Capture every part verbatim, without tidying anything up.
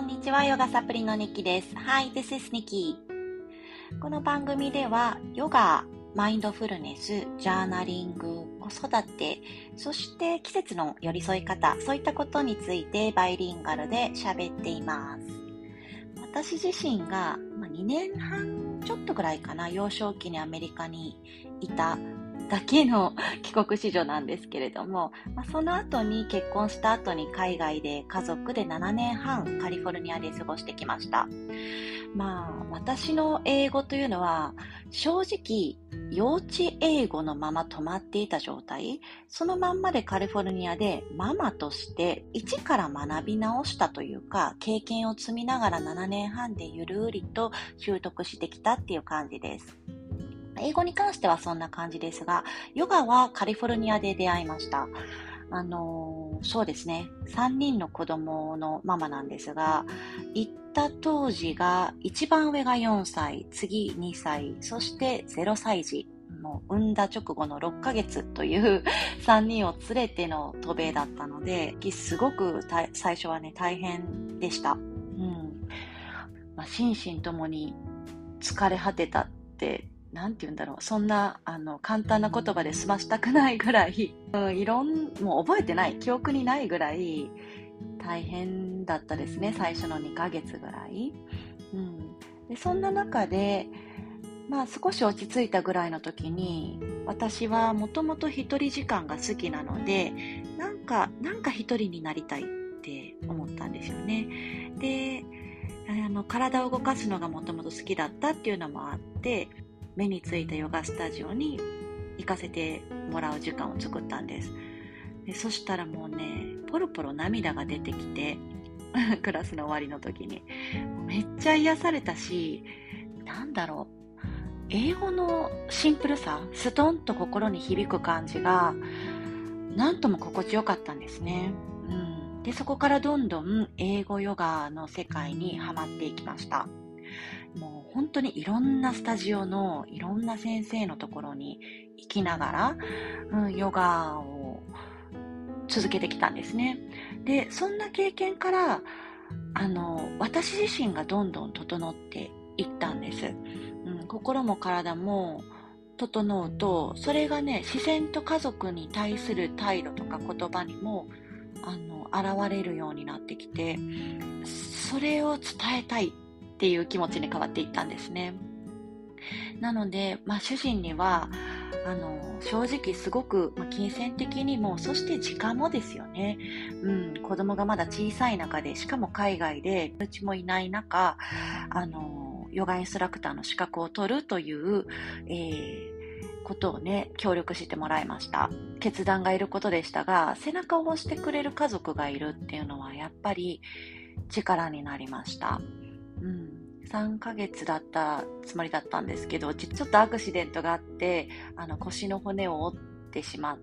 にちは、ヨガサプリのニキです。Hi, this is Nikki。この番組では、ヨガ、マインドフルネス、ジャーナリング、子育て、そして季節の寄り添い方、そういったことについてバイリンガルで喋っています。私自身がにねんはんちょっとぐらいかな、幼少期にアメリカにいただけの帰国子女なんですけれども、まあ、その後に結婚した後に海外で家族でななねんはんカリフォルニアで過ごしてきました。まあ私の英語というのは正直幼稚英語のまま止まっていた状態、そのまんまでカリフォルニアでママとして一から学び直したというか、経験を積みながらななねんはんでゆるりと習得してきたっていう感じです。英語に関してはそんな感じですが、ヨガはカリフォルニアで出会いました。あのー、そうですね、さんにんの子供のママなんですが、行った当時が一番上がよんさい、次にさい、そしてゼロさい児、もう産んだ直後のろっかげつというさんにんを連れての渡米だったので、すごく最初はね大変でした。うん、まあ、心身ともに疲れ果てたってなんて言うんだろう、そんなあの簡単な言葉で済ましたくないぐらい、うん、いろんもう覚えてない記憶にないぐらい大変だったですね、最初のにかげつぐらい、うん、でそんな中で、まあ、少し落ち着いたぐらいの時に、私はもともと一人時間が好きなので、なんかなんか一人になりたいって思ったんですよね。であの体を動かすのがもともと好きだったっていうのもあって、目についたヨガスタジオに行かせてもらう時間を作ったんです。でそしたらもうね、ポロポロ涙が出てきてクラスの終わりの時にめっちゃ癒されたし、なんだろう、英語のシンプルさ、ストンと心に響く感じがなんとも心地よかったんですね。うん、でそこからどんどん英語ヨガの世界にはまっていきました。もう本当にいろんなスタジオのいろんな先生のところに行きながら、うん、ヨガを続けてきたんですね。でそんな経験からあの私自身がどんどん整っていったんです、うん、心も体も整うと、それがね、自然と家族に対する態度とか言葉にもあの現れるようになってきて、それを伝えたいっていう気持ちに変わっていったんですね。なので、まあ、主人にはあの正直すごく、まあ、金銭的にも、そして時間もですよね、うん、子供がまだ小さい中で、しかも海外でうちもいない中、あのヨガインストラクターの資格を取るという、えーことをね、協力してもらいました。決断がいることでしたが、背中を押してくれる家族がいるっていうのはやっぱり力になりました。うん、さんかげつだったつもりだったんですけど、ちょっとアクシデントがあって、あの腰の骨を折ってしまって、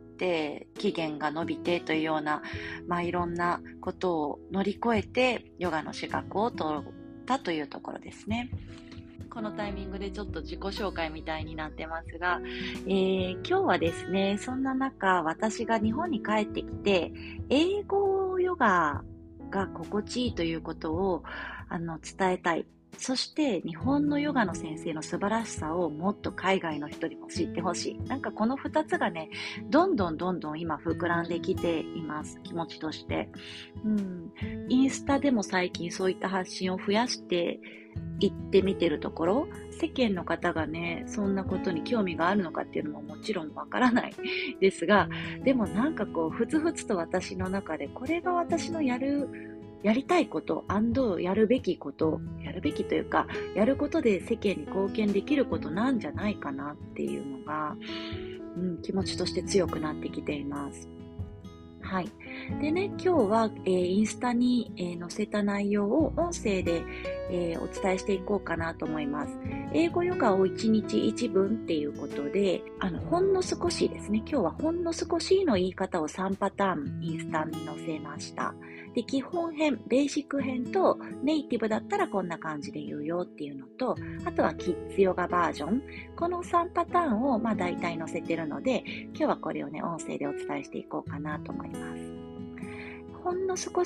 期限が延びてというような、まあ、いろんなことを乗り越えてヨガの資格を取ったというところですね。このタイミングでちょっと自己紹介みたいになってますが、えー、今日はですね、そんな中、私が日本に帰ってきて、英語ヨガが心地いいということをあの伝えたい。そして日本のヨガの先生の素晴らしさをもっと海外の人にも知ってほしい。なんかこのふたつがね、どんどんどんどん今膨らんできています、気持ちとして。うん、インスタでも最近そういった発信を増やして行ってみてるところ、世間の方がね、そんなことに興味があるのかっていうのももちろんわからないですが、でもなんかこうふつふつと私の中で、これが私のやるやりたいこと、やるべきこと、やるべきというか、やることで世間に貢献できることなんじゃないかなっていうのが、うん、気持ちとして強くなってきています。はい。でね、今日は、えー、インスタに、えー、載せた内容を音声で、えー、お伝えしていこうかなと思います。英語ヨガをいちにちいちぶんっていうことで、あの、ほんの少しですね、今日はほんの少しの言い方をさんパターンインスタに載せました。で、基本編、ベーシック編とネイティブだったらこんな感じで言うよっていうのと、あとはキッズヨガバージョン。このさんパターンをまあ大体載せてるので、今日はこれをね、音声でお伝えしていこうかなと思います。ほんの少し、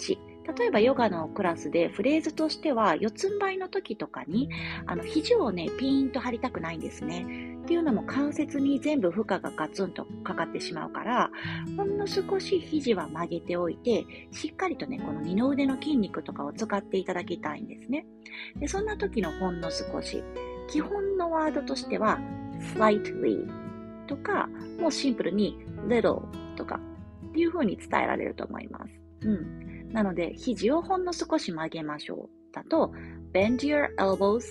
例えばヨガのクラスでフレーズとしては、四つん這いの時とかに、あの、肘をね、ピーンと張りたくないんですね。っていうのも関節に全部負荷がガツンとかかってしまうから、ほんの少し肘は曲げておいて、しっかりとね、この二の腕の筋肉とかを使っていただきたいんですね。で、そんな時のほんの少し、基本のワードとしては、slightly とか、もうシンプルに little とかっていう風に伝えられると思います。うん。なので、肘をほんの少し曲げましょう。だと、bend your elbows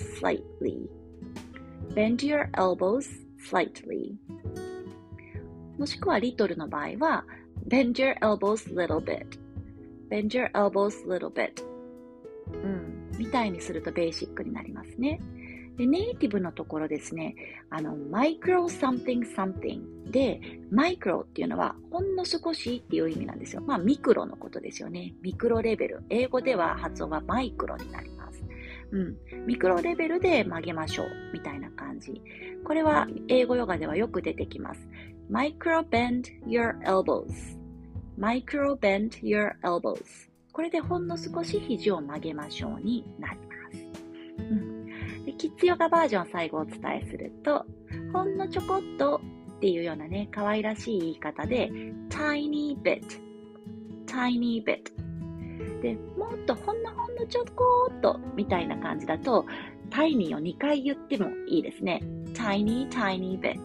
slightly。bend your elbows slightly。もしくは little の場合は、bend your elbows little bit。bend your elbows little bit。うん。みたいにするとベーシックになりますね。で、ネイティブのところですね、あの、micro something something で、マイクロっていうのは、ほんの少しっていう意味なんですよ。まあ、ミクロのことですよね。ミクロレベル。英語では発音はマイクロになります。うん。ミクロレベルで曲げましょう。みたいな感じ。これは、英語ヨガではよく出てきます。micro bend your elbows。micro bend your elbows。これでほんの少し肘を曲げましょうになります。うん。キッズヨガバージョン最後お伝えすると、ほんのちょこっとっていうようなね、可愛らしい言い方で、tiny bit, tiny bit。で、もっとほんのほんのちょこっとみたいな感じだと、tiny をにかい言ってもいいですね。tiny, tiny bit,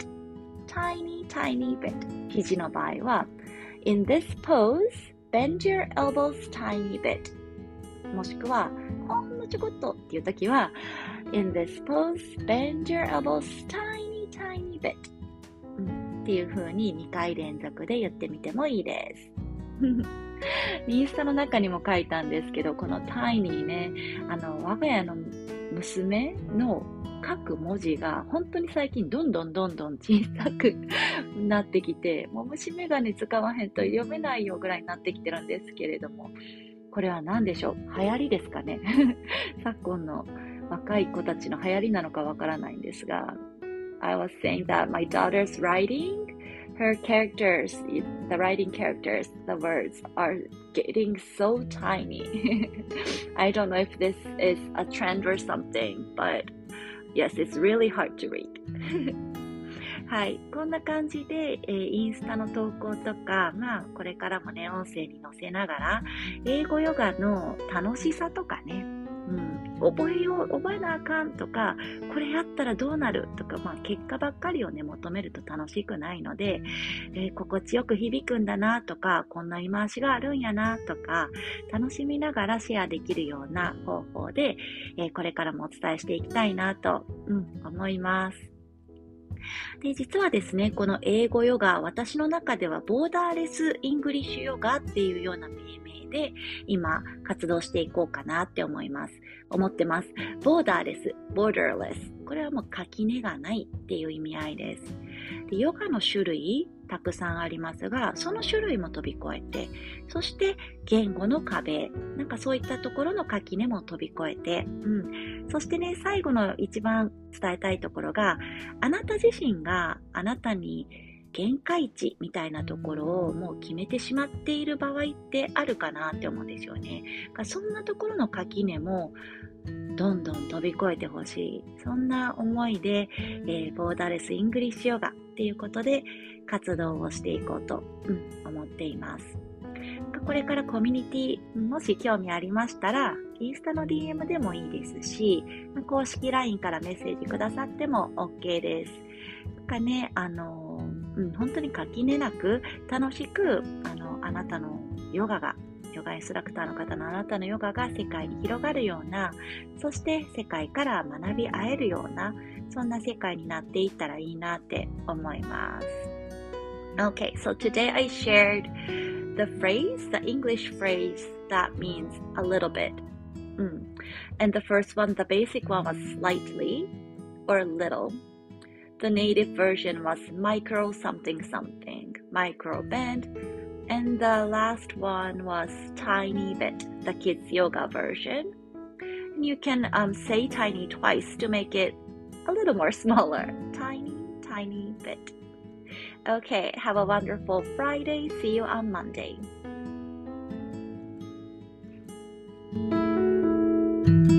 tiny, tiny bit。肘の場合は、in this pose, bend your elbows tiny bit。もしくは、ほんのちょこっとっていうときは、In this pose, bend your elbows tiny, tiny bit、うん、っていう風ににかい連続で言ってみてもいいです。インスタの中にも書いたんですけど、この tiny ね、あの、我が家の娘の書く文字が本当に最近どんどんどんどん小さくなってきて、もう虫眼鏡使わへんと読めないよぐらいになってきてるんですけれども、これは何でしょう？流行りですかね。昨今の若い子たちの流行りなのかわからないんですが、I was saying that my daughter's writing, her characters, the writing characters, the words are getting so tiny. I don't know if this is a trend or something, but yes, it's really hard to read. はい。こんな感じで、えー、インスタの投稿とか、まあ、これからもね、音声に載せながら、英語ヨガの楽しさとかね、うん、覚えよう、覚えなあかんとか、これやったらどうなるとか、まあ、結果ばっかりをね、求めると楽しくないので、えー、心地よく響くんだなとか、こんな言い回しがあるんやなとか、楽しみながらシェアできるような方法で、えー、これからもお伝えしていきたいなと、うん、思います。で、実はですね、この英語ヨガ、私の中ではボーダーレスイングリッシュヨガっていうような命名で今活動していこうかなって思います。思ってます。ボーダーレス、ボーダーレス。これはもう垣根がないっていう意味合いです。で、ヨガの種類たくさんありますが、その種類も飛び越えて、そして言語の壁、なんかそういったところの垣根も飛び越えて、うん。そしてね、最後の一番伝えたいところが、あなた自身があなたに限界値みたいなところをもう決めてしまっている場合ってあるかなって思うんですよね。そんなところの垣根もどんどん飛び越えてほしい。そんな思いで、えー、ボーダーレスイングリッシュヨガっていうことで活動をしていこうと、うん、思っています。これからコミュニティ、もし興味ありましたら、インスタの ディーエム でもいいですし、公式 ライン からメッセージくださっても OK です。なんかね、あの、うん、本当に垣根なく、楽しく、あの、あなたのヨガが、ヨガインストラクターの方のあなたのヨガが世界に広がるような、そして世界から学び合えるような、そんな世界になっていったらいいなって思います。Okay, so today I shared the phrase, the English phrase that means a little bit. Mm. And the first one, the basic one was slightly or little. The native version was micro something something, micro bend. And the last one was tiny bit, the kids yoga version. And you can um, say tiny twice to make it a little more smaller. Tiny, tiny bit.Okay, have a wonderful Friday. See you on Monday. す。